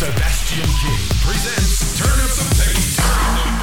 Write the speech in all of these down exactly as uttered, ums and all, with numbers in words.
Sebastian King presents Turn Up the Bass. Turn Up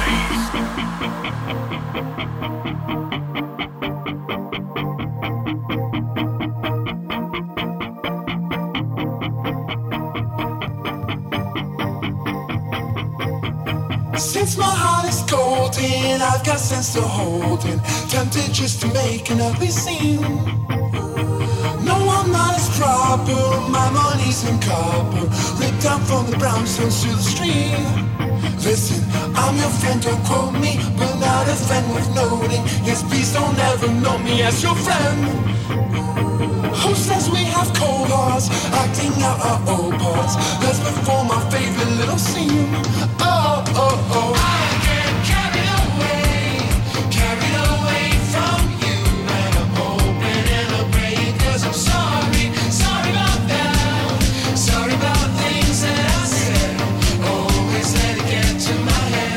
the bass. Since my heart is golden, I've got sense to hold in. Tempted just to make an ugly scene. No, I'm not as proper, my money's in copper. Ripped out from the brownstones to the stream. Listen, I'm your friend, don't quote me, but not a friend worth noting. Yes, please don't ever know me as your friend. Who says we have cold hearts, acting out our old parts? Let's perform our favorite little scene. Oh, oh, oh. I get carried away, carried away from you. And I'm hoping it'll break, 'cause I'm sorry, sorry about that. Sorry about things that I said. Always let it get to my head.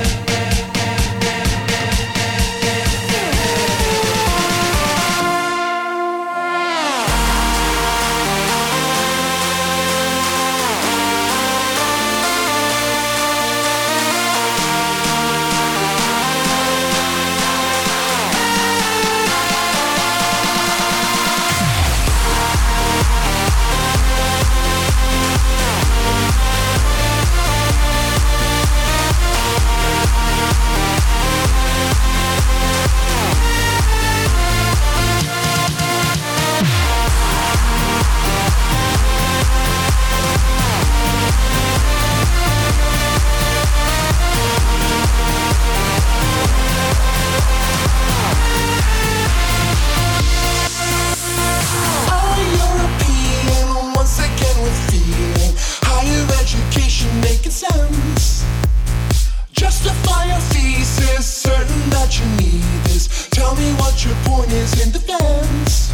Justify your thesis, certain that you need this. Tell me what your point is in defense.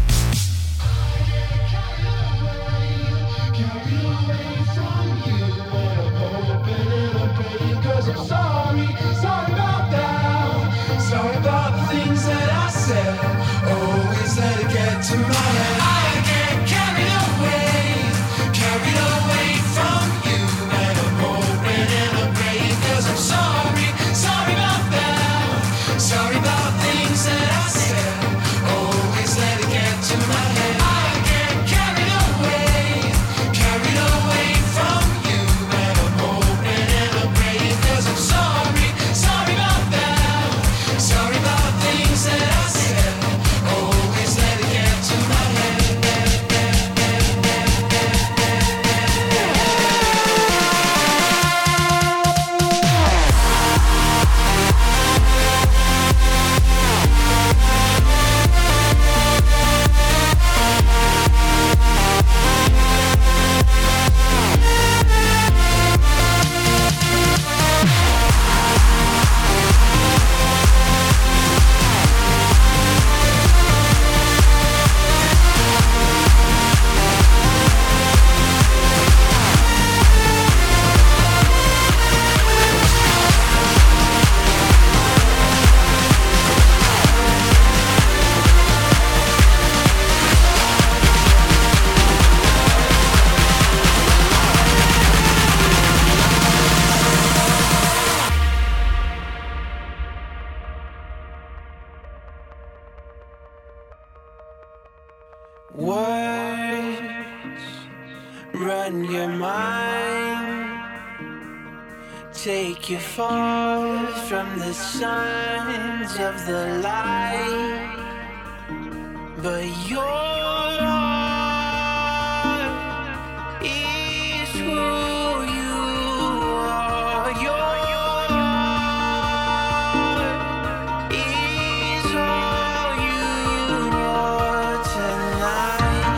Carried away from you, and I'm hoping it'll break, 'cause I'm sorry, sorry about that. Sorry about the things that I said. Always let it get to my head. I get carried away, carried away from you, and I'm hoping it'll break, 'cause I'm sorry, sorry about that. Sorry about things that I said. Always let it get to my head. I get carried away, carried away from you, and I'm hoping it'll break, 'cause I'm sorry, sorry about that. Sorry about things that I said. Always let it get to my head. Words run your mind, take you far from the signs of the light, but your heart is who you are. Your heart is all you are tonight.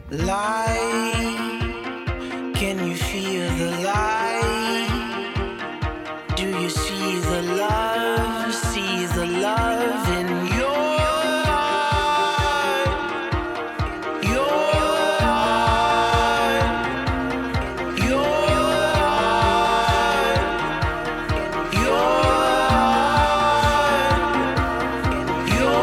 light? Can you feel the light? Do you see the love? See the love in your heart? Your heart? Your heart? Your heart? Your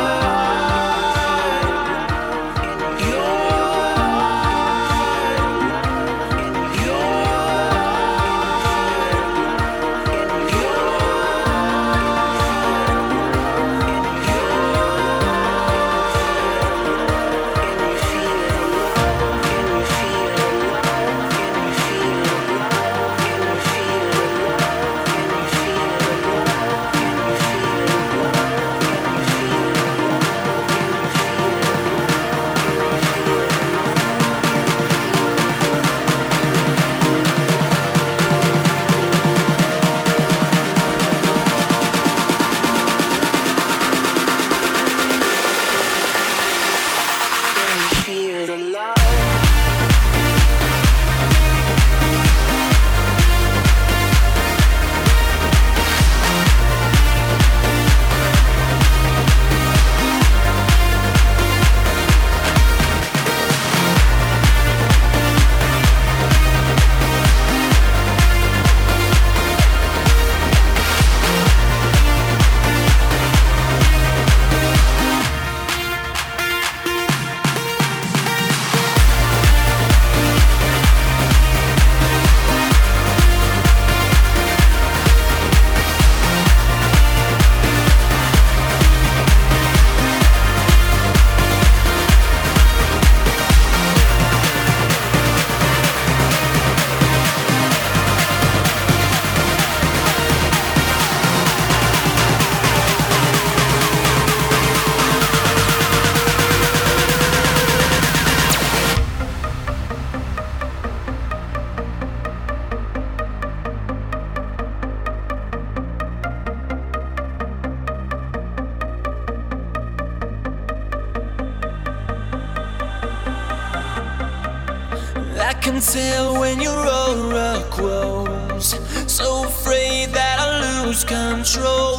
I can tell when your aura grows. So afraid that I'll lose control.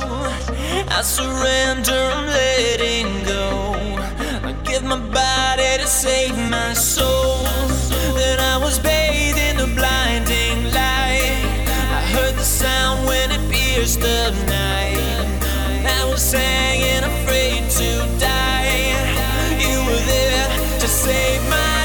I surrender, I'm letting go. I give my body to save my soul. Then I was bathed in the blinding light. I heard the sound when it pierced the night. I was hanging, afraid to die. You were there to save my life.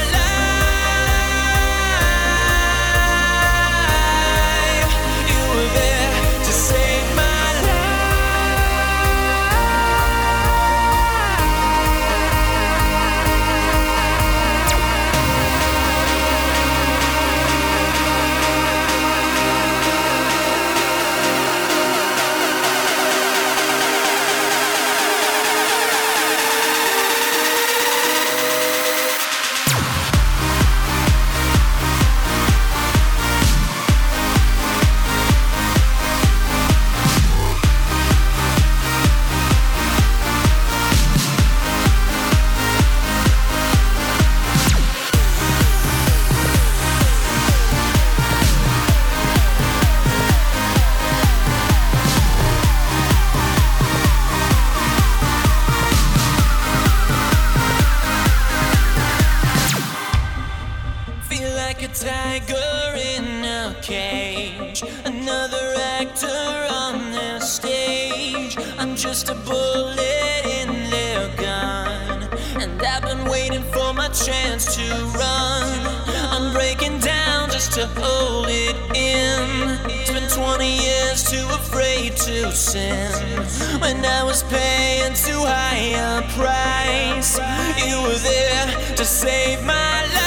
Tiger in a cage, another actor on their stage. I'm just a bullet in their gun, and I've been waiting for my chance to run. I'm breaking down just to hold it in. It's been twenty years, too afraid to sin. When I was paying too high a price, you were there to save my life.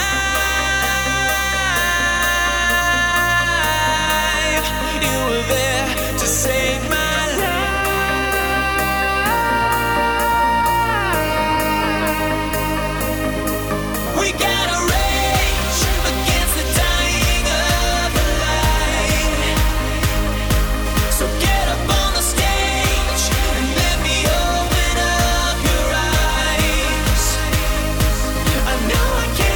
You were there to save my life. We gotta rage against the dying of the light. So get up on the stage and let me open up your eyes. I know I can't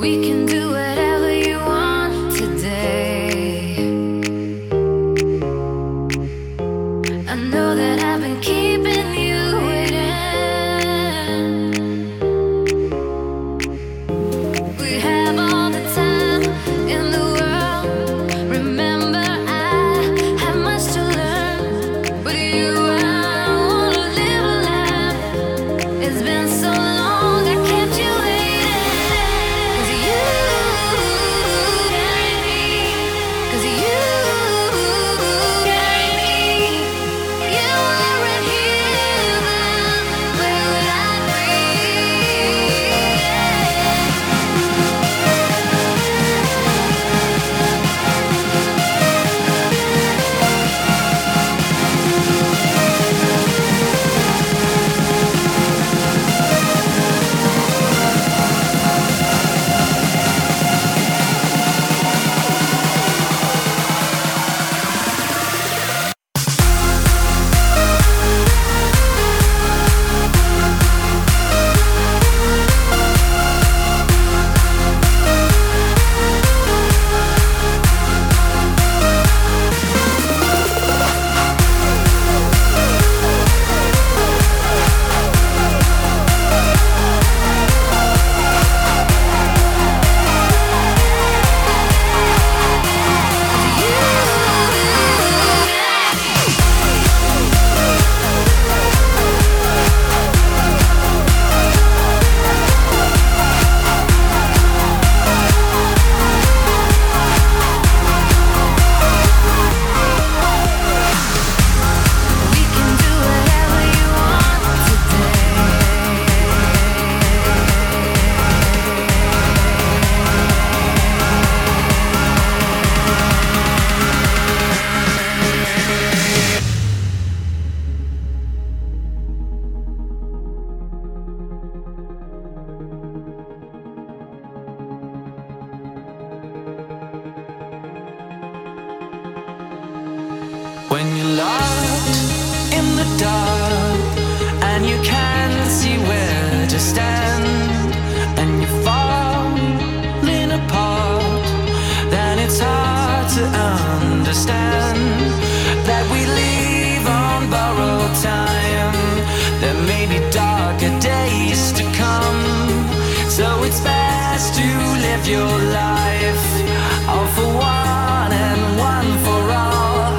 When you're locked in the dark and you can't see where to stand, and you're falling apart, then it's hard to understand that we live on borrowed time. There may be darker days to come, so it's best to live your life all for one and one for all.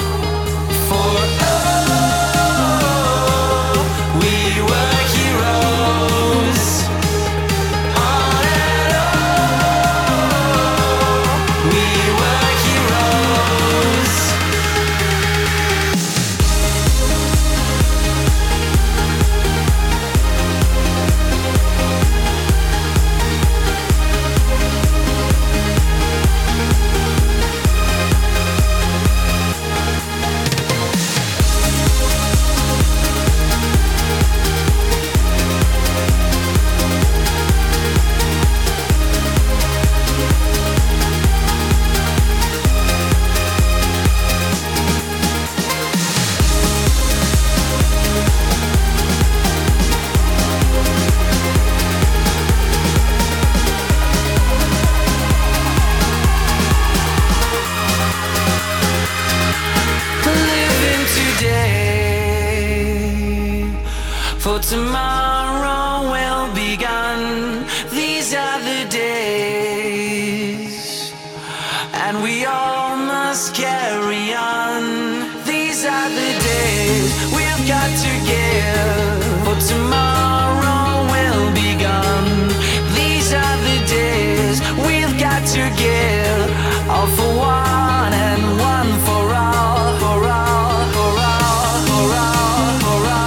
For tomorrow will be gone. These are the days, and we all must carry on. These are the days we've got to give. For tomorrow will be gone. These are the days we've got to give. All for one and one for all, for all, for all, for all, for all.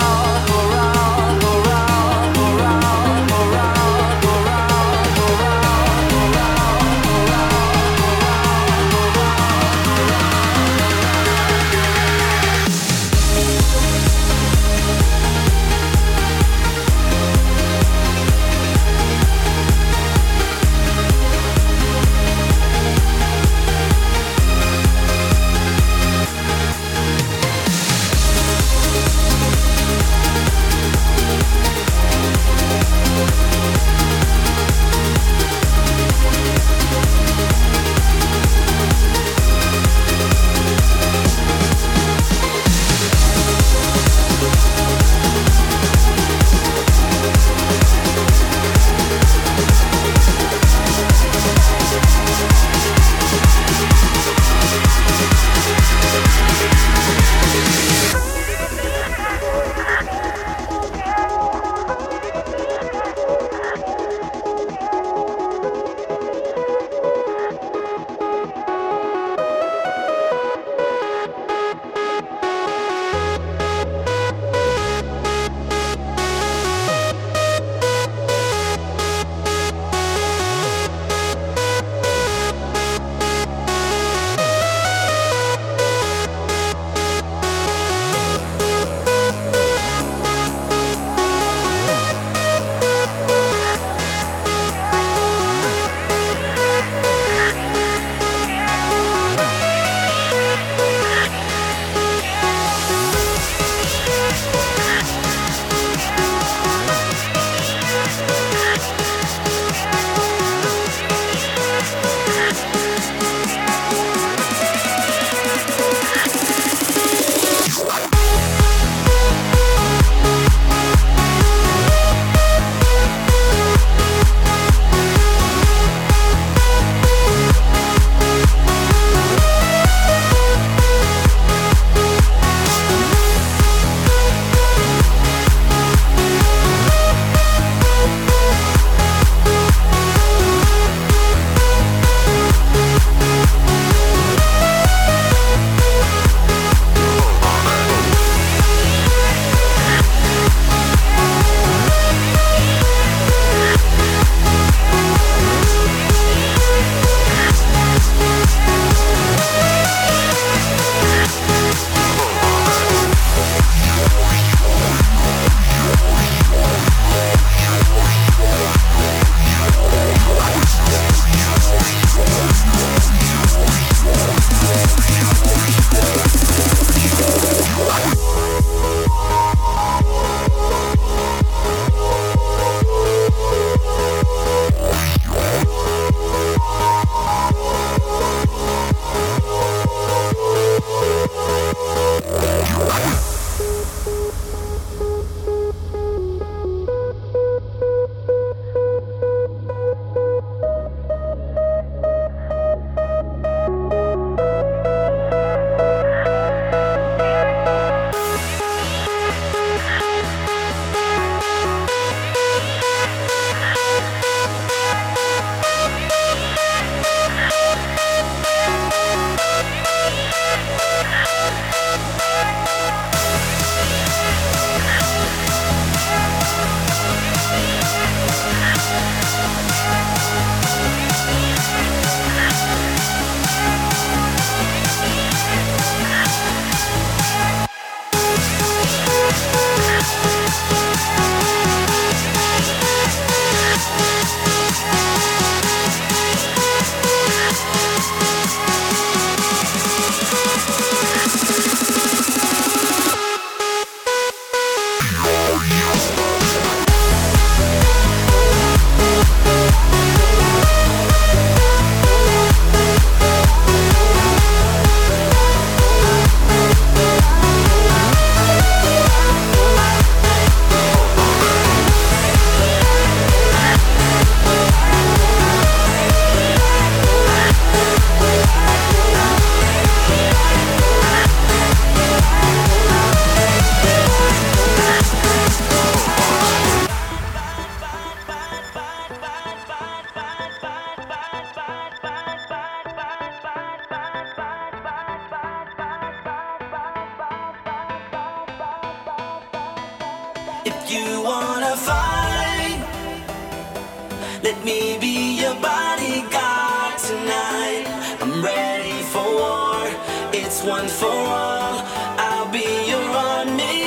fight, let me be your bodyguard tonight. I'm ready for war, it's one for all. I'll be your army.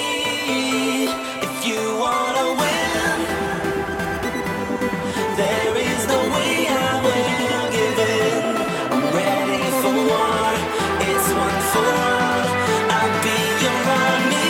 If you wanna win, there is no way I will give in. I'm ready for war, it's one for all. I'll be your army.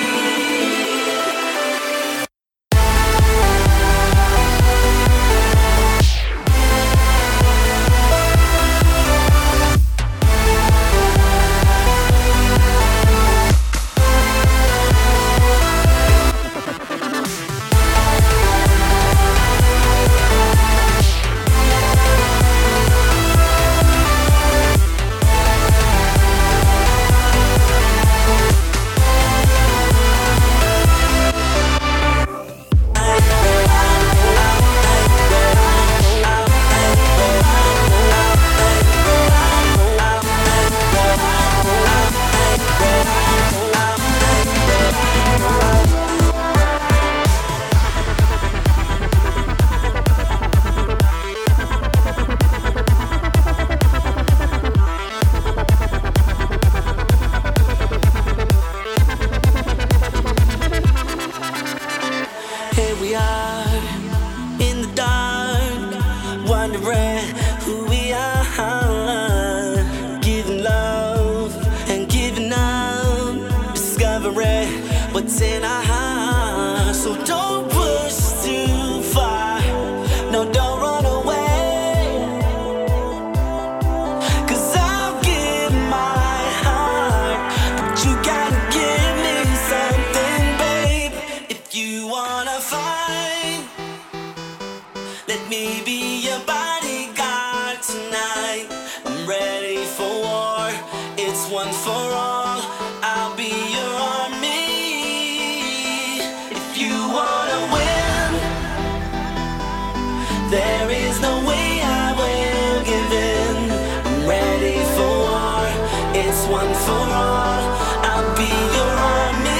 Here we are in the dark, wondering who we are, giving love and giving up, discovering what's in our hearts. So don't push too far, no, don't run away, 'cause I'll give my heart, but you gotta give me something, babe. If you wanna fight, let me be your bodyguard tonight. I'm ready for war, it's one for all. I'll be your army. If you wanna win, there is no way I will give in. I'm ready for war, it's one for all. I'll be your army.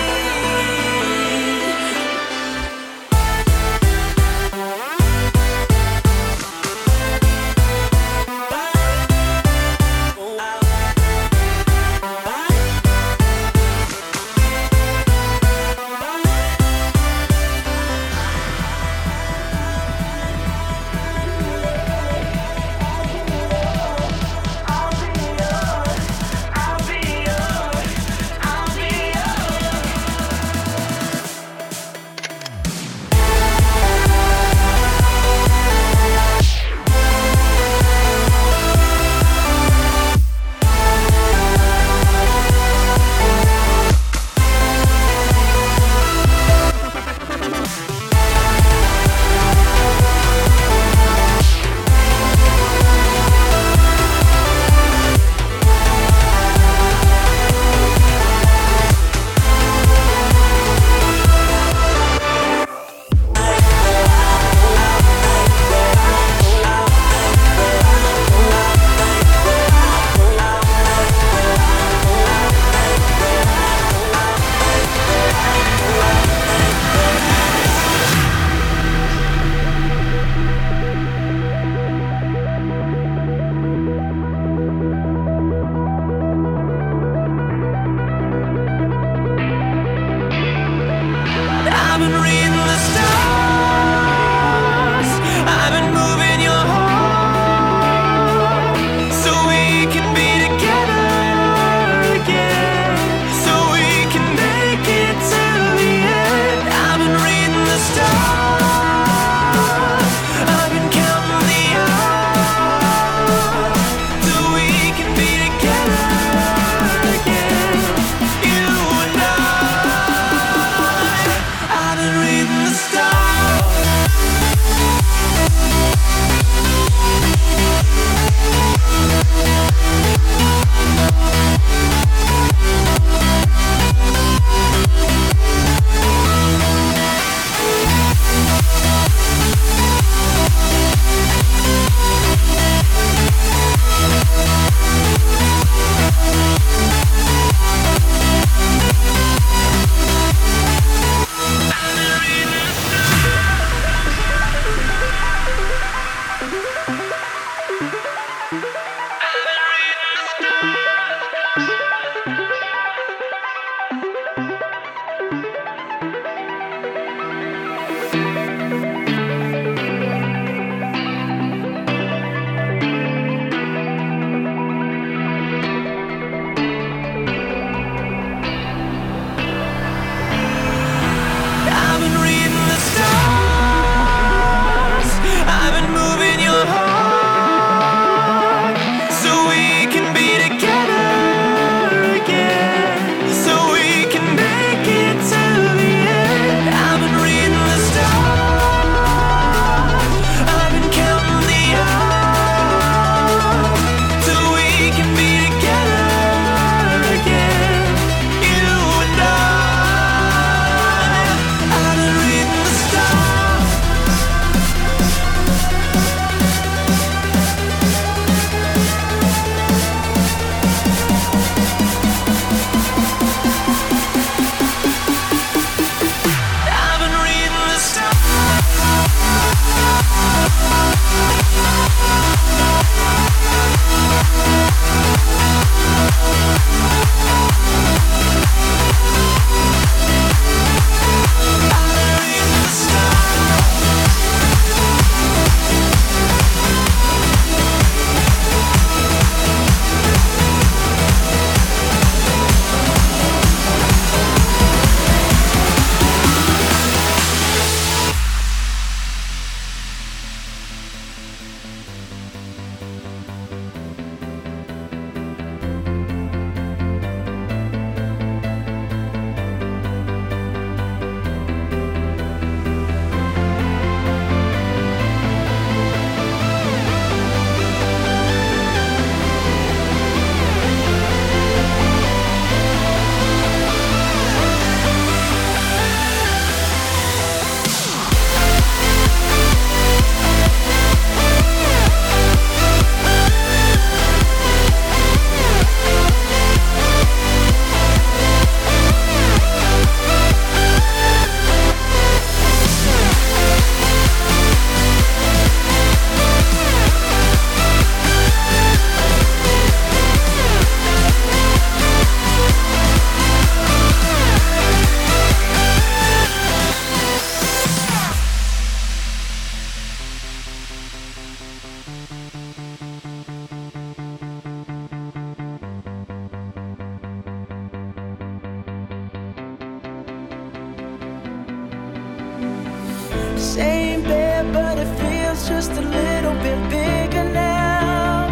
just a little bit bigger now.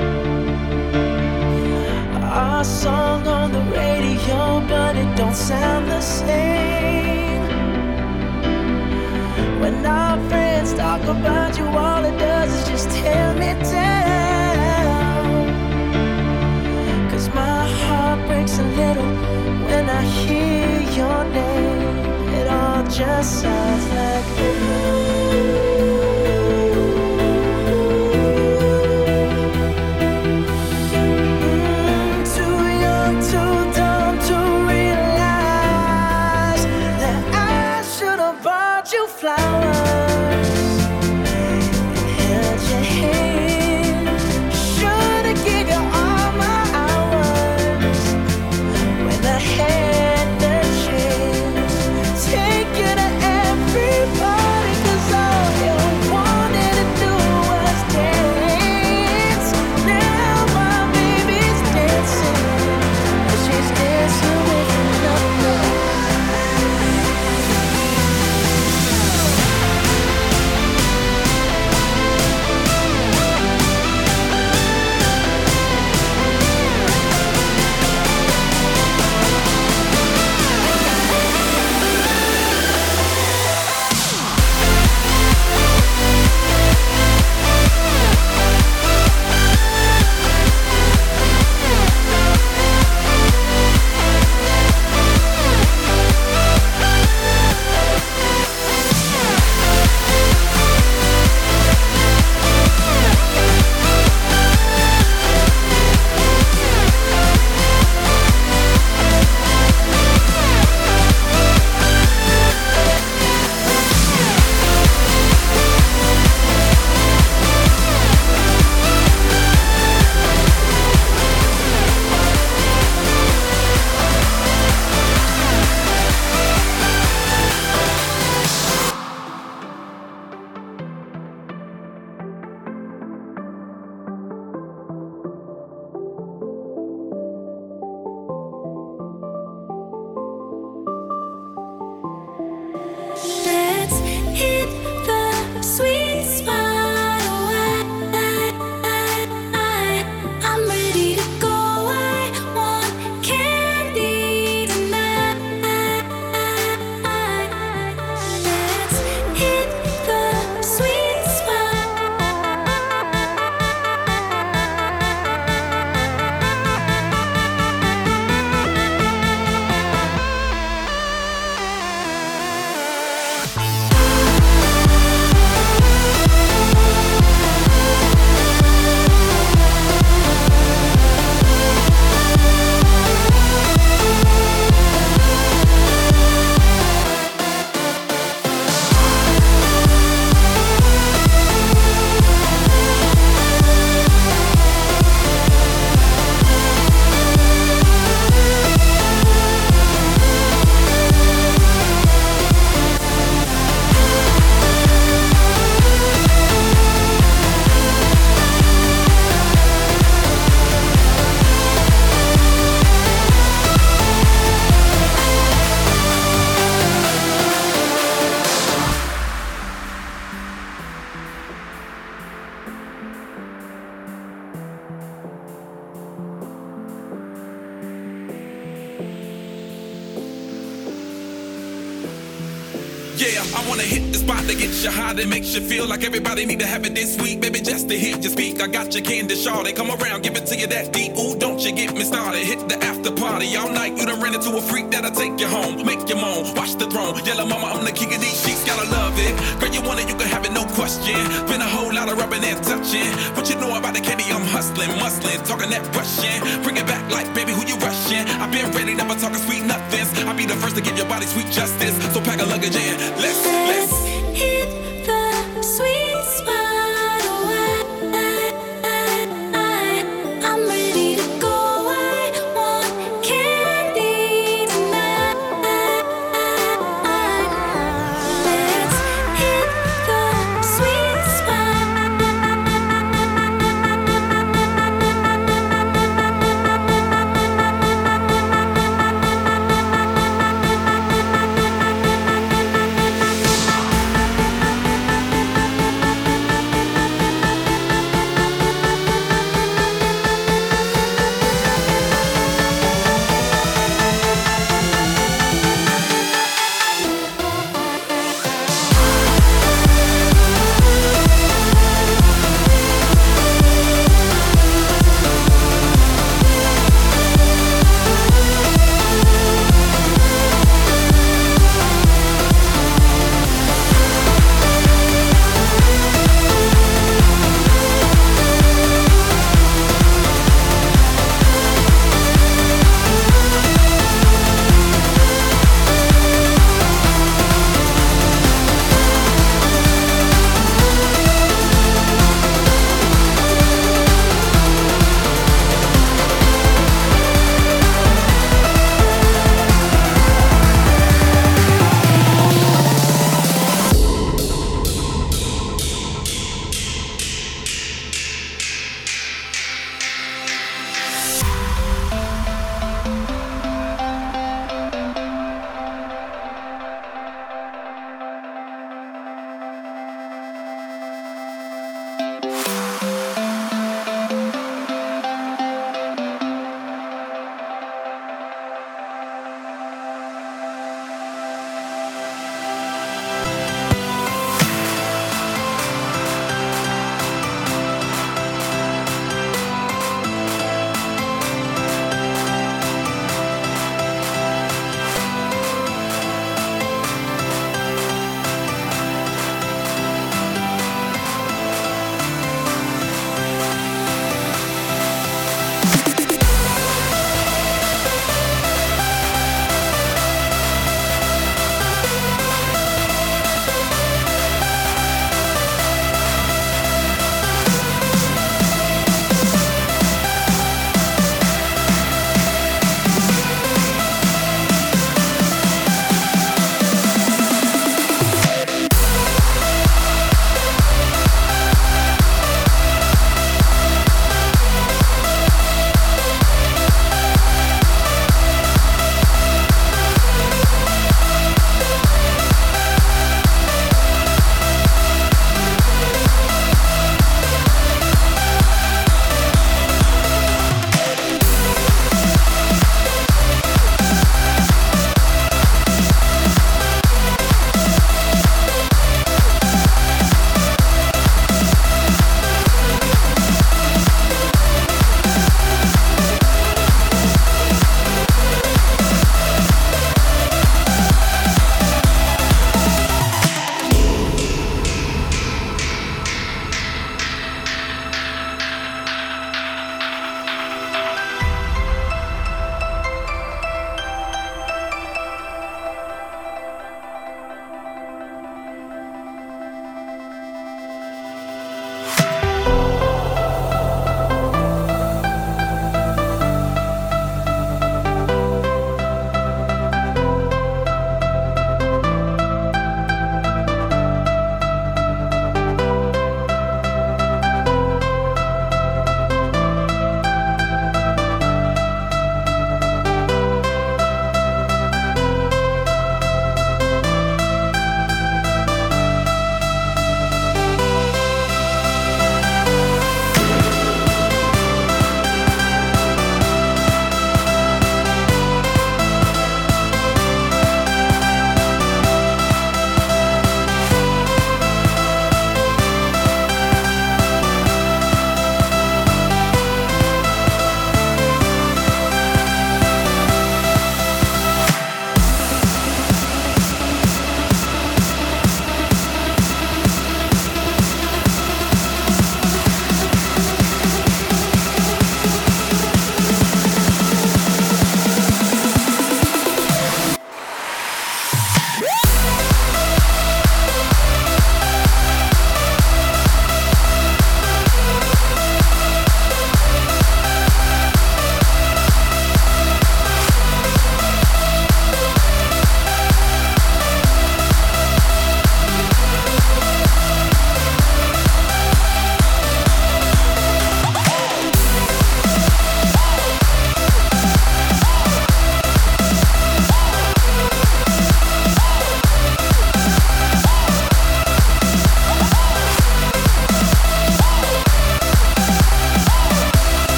Our song on the radio, but it don't sound the same. When our friends talk about you, all it does is just tear me down. Cause my heart breaks a little when I hear your name. It all just sounds like mm, too young, too dumb to realize that I should have bought you flowers and held your hand. Should have given you all my hours when I had the chance. Take you to every party, cause all you wanted to do was dance. Now my baby's dancing, but she's dancing with another. Let's hit the sweet spot. Oh, I, I, I'm ready to go. I want candy tonight. Let's hit the sweet spot. Yeah, I wanna hit the spot that gets you high, that makes you feel like everybody need to have it this week. Baby, just to hear you speak, I got your candy shawty. Come around, give it to you that deep. Ooh, don't you get me started. Hit the after party all night. You done ran into a freak that'll take you home, make you moan, watch the throne. Yellow mama, I'm the king of these sheets, gotta love it. Girl, you want it, you can have it, no question. Been a whole lot of rubbing and touching. What you know about the candy, I'm hustling, muscling, talking that Russian. Bring it back like, baby, who you rushing? I've been ready, never talking sweet nothings. I'll be the first to give your body sweet justice. So pack a luggage in, let's, let's hit the sweet spot. Oh, I, I, I, I'm ready to go. I want candy tonight. Let's hit the sweet spot.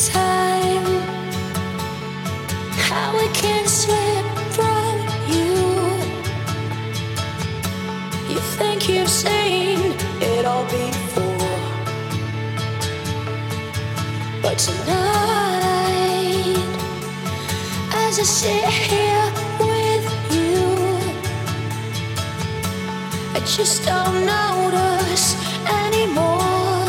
time. How we can slip from you. You think you've seen it all before, but tonight, as I sit here with you, I just don't notice anymore.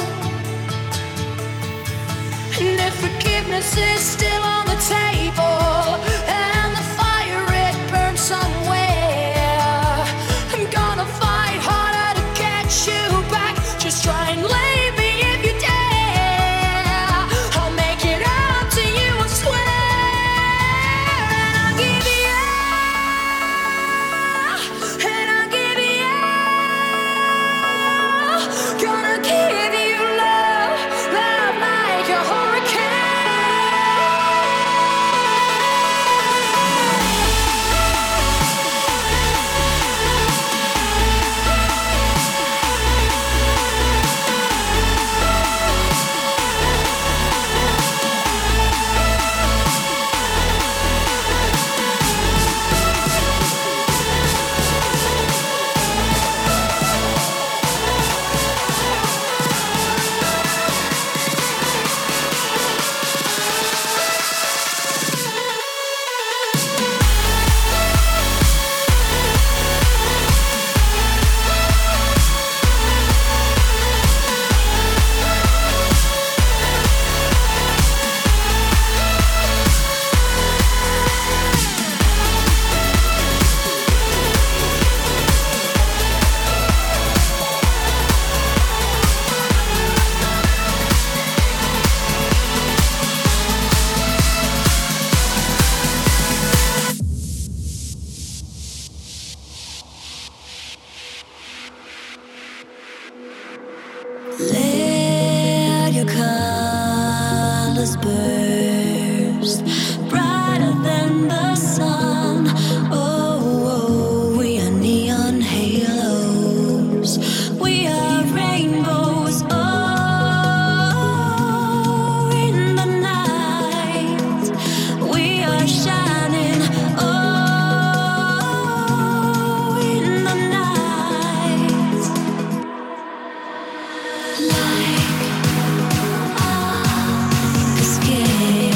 And if forgiveness is still on the table and the fire it burns somewhere, I'm gonna fight harder to get you back. Just try and leave me if you dare. I'll make it up to you, I swear. And I'll give you, and I'll give you, gonna give you love, love like a hurricane. Let your colors burst brighter than the sun. Oh, oh, we are neon halos. We are rainbows. Oh, in the night, we are shining. Oh, in the night. Like a skin.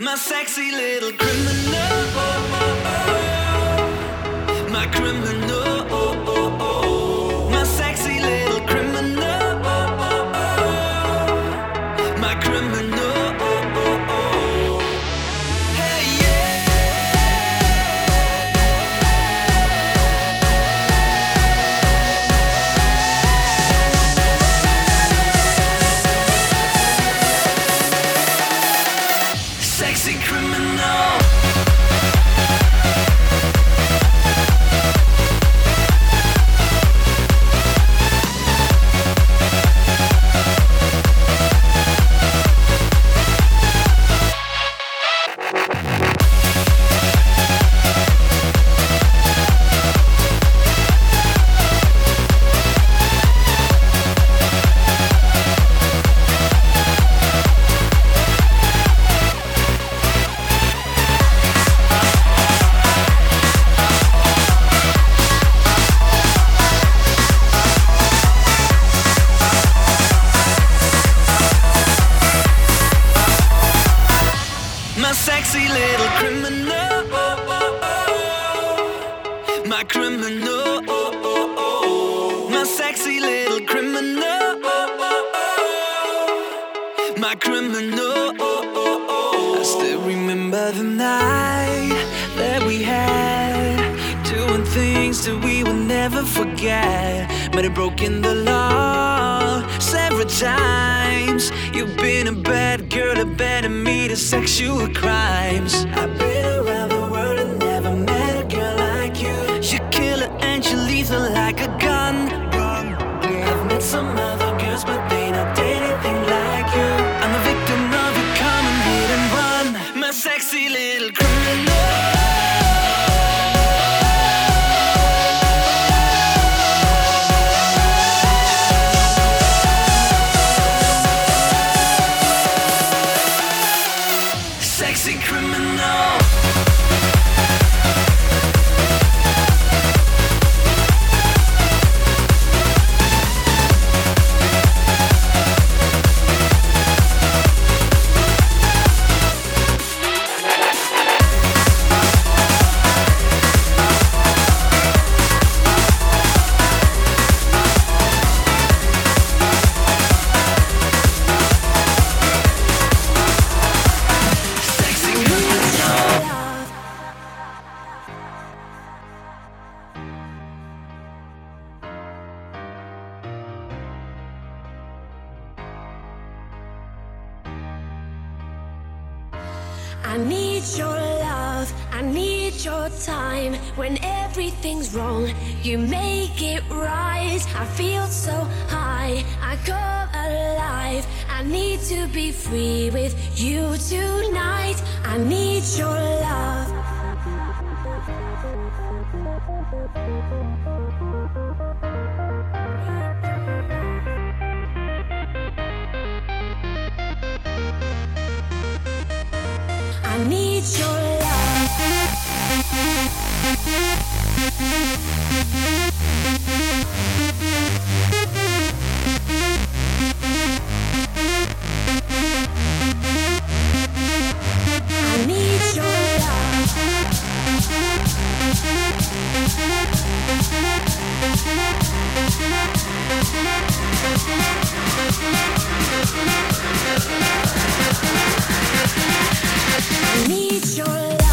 My sexy little criminal, my criminal, my sexy little criminal, my criminal. Hey yeah. Sexy criminal. My sexy little criminal, my criminal, my sexy little criminal, my criminal. I still remember the night that we had, doing things that we will never forget. Might have broken the law several times. You've been a bad girl, a bad me to sexual crimes. I've been around the world and never met a girl like you. You kill her and you lethal like a gun. I've met some other girls, but they not anything like you. I'm a victim of your common hit and run. My sexy little criminal. Sexy criminal. I need your love, I need your time. When everything's wrong, you make it right. I feel so high, I come alive. I need to be free with you tonight. I need your love. I need your love. I need your love. I need your love.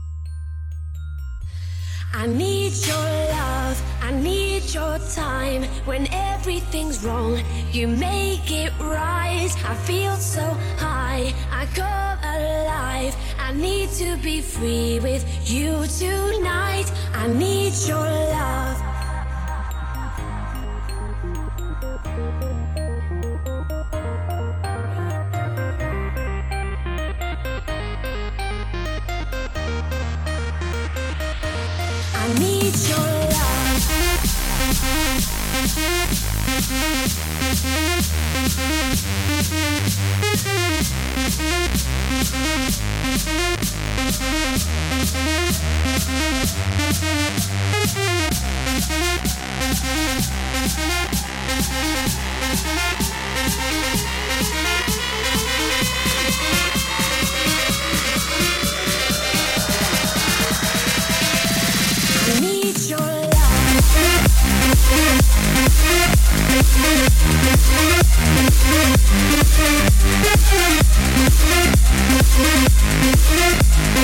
I need your love, I need your time. when everything's wrong, you make it right. I feel so high, I come alive. I need to be free with you tonight. I need your love. I need your love. I need your love.